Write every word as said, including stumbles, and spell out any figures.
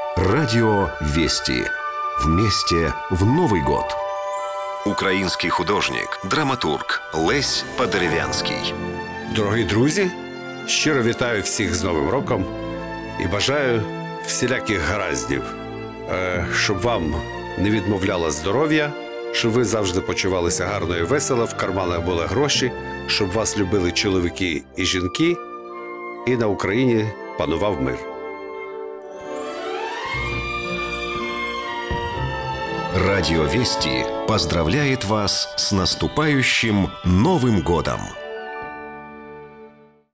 Радио Вести. Вместе в Новый год. Український художник, драматург Лесь Подерев'янський. Дорогі друзі, щиро вітаю всіх з Новим роком і бажаю всіляких гараздів, щоб вам не відмовляло здоров'я, щоб ви завжди почувалися гарно і весело, в карманах були гроші, щоб вас любили чоловіки і жінки, і на Україні панував мир. Радио Вести поздравляет вас с наступающим Новым годом!